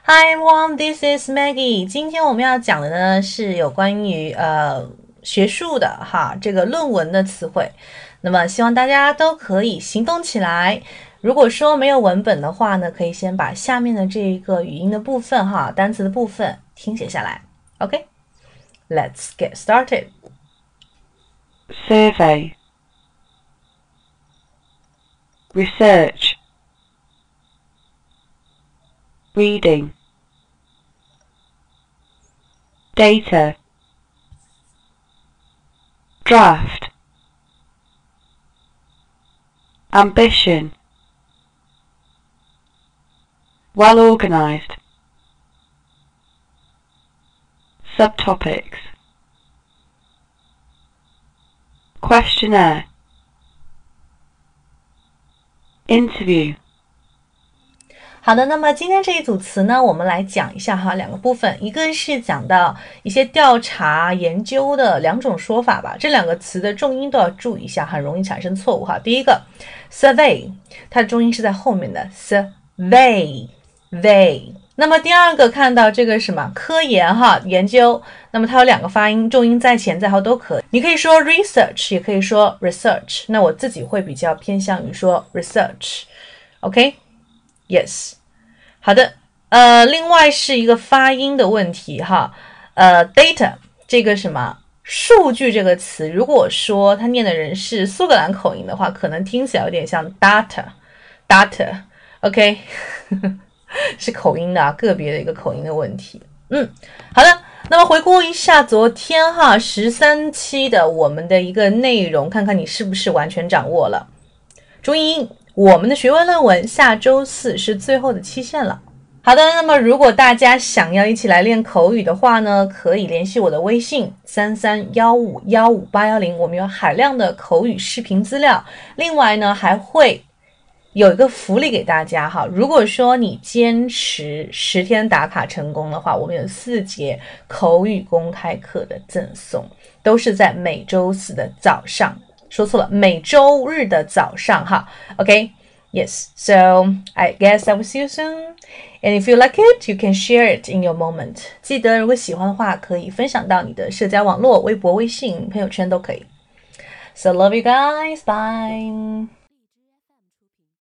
Hi everyone, this is Maggie. 今天我们要讲的呢是有关于学术的这个论文的词汇。那么希望大家都可以行动起来。如果说没有文本的话呢，可以先把下面的这一个语音的部分单词的部分听写下来。OK, let's get started. Survey, research, reading, data, draft, ambition, well organized, subtopics, questionnaire, interview. 好的，那么今天这一组词呢，我们来讲一下两个部分，一个是讲到一些调查研究的两种说法吧，这两个词的重音都要注意一下，很容易产生错误第一个 survey， 它的重音是在后面的 survey。那么第二个看到这个什么科研研究，那么它有两个发音，重音在前在后都可以，你可以说 research 也可以说 research， 那我自己会比较偏向于说 research。 OK， Yes， 好的，另外是一个发音的问题data 这个什么数据这个词，如果说他念的人是苏格兰口音的话，可能听起来有点像 data OK 是口音的个别的一个口音的问题。好的，那么回顾一下昨天13期的我们的一个内容，看看你是不是完全掌握了。注意，我们的学位论文下周四是最后的期限了。好的，那么如果大家想要一起来练口语的话呢，可以联系我的微信3315155810，我们有海量的口语视频资料，另外呢还会有一个福利给大家如果说你坚持10天打卡成功的话，我们有4节口语公开课的赠送，都是在每周四的早上，说错了，每周日的早上OK, yes, so I guess I will see you soon, and if you like it, you can share it in your moment. 记得如果喜欢的话，可以分享到你的社交网络，微博、微信、朋友圈都可以。So love you guys, bye.